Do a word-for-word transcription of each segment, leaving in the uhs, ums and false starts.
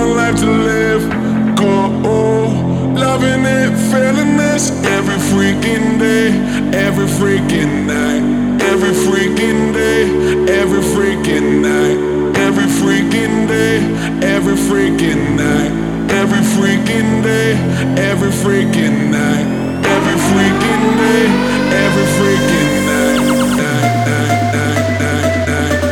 one life to live. Go, loving it, feeling this every freaking day, every freaking night, every freaking day, every freaking night, every freaking day, every freaking night, every freaking day, every freaking night, every freaking day, every freaking night, night, night, night, night, night.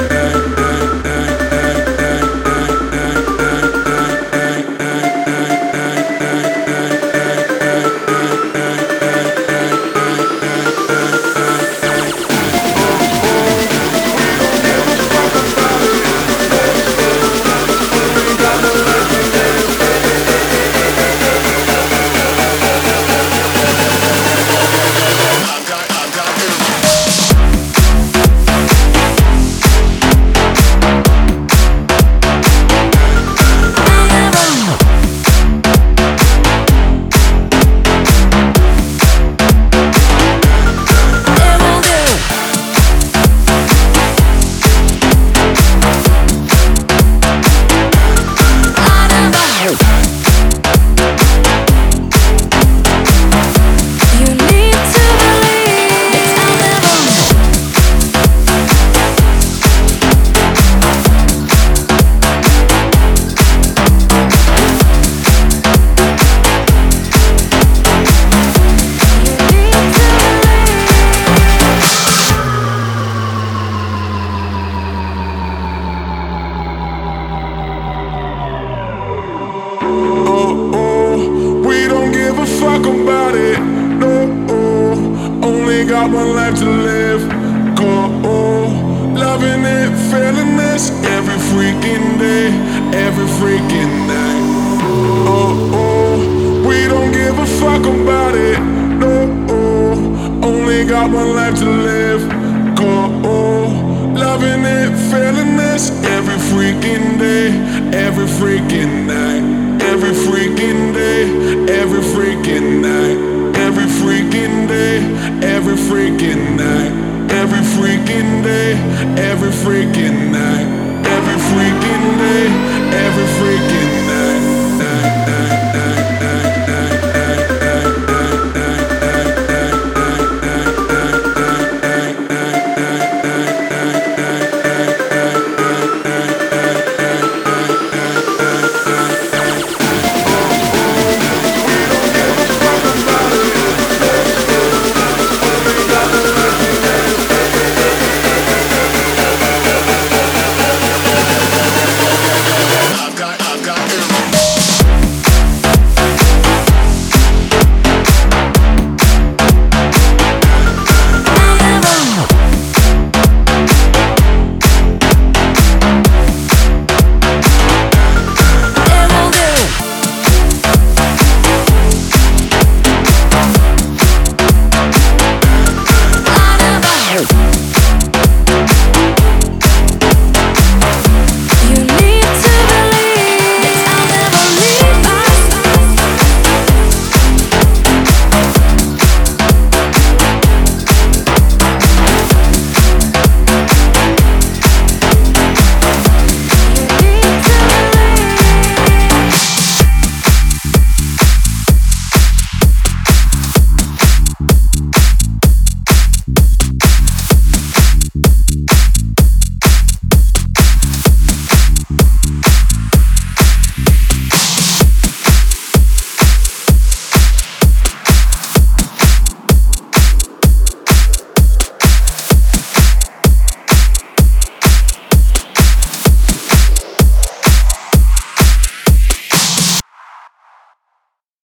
Fuck about it, no, only got one life to live. Go, loving it, feeling this every freaking day, every freaking night. Oh, we don't give a fuck about it, no, only got one life to live. Go, loving it, feeling this every freaking day, every freaking night, every freaking day, every freaking night, every freaking day, every freaking night, every freaking day, every freaking night, every freaking day, every freaking